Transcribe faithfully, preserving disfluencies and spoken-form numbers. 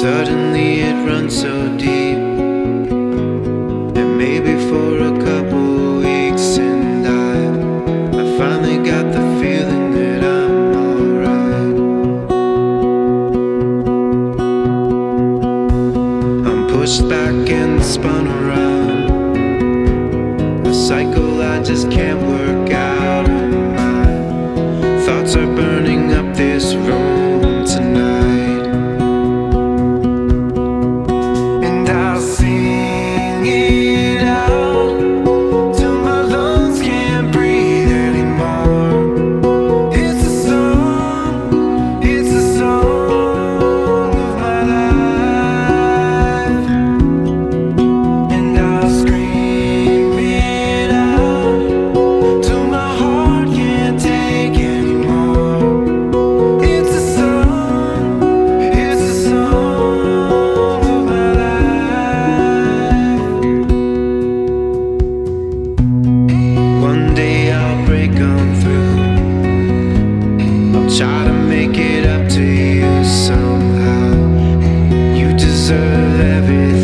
Suddenly it runs so deep, and maybe for a couple weeks, and I, I finally got the feeling that I'm alright. I'm pushed back and spun around, a cycle I just can't work out, and my thoughts are burning up this room tonight. Try to make it up to you somehow. You deserve everything.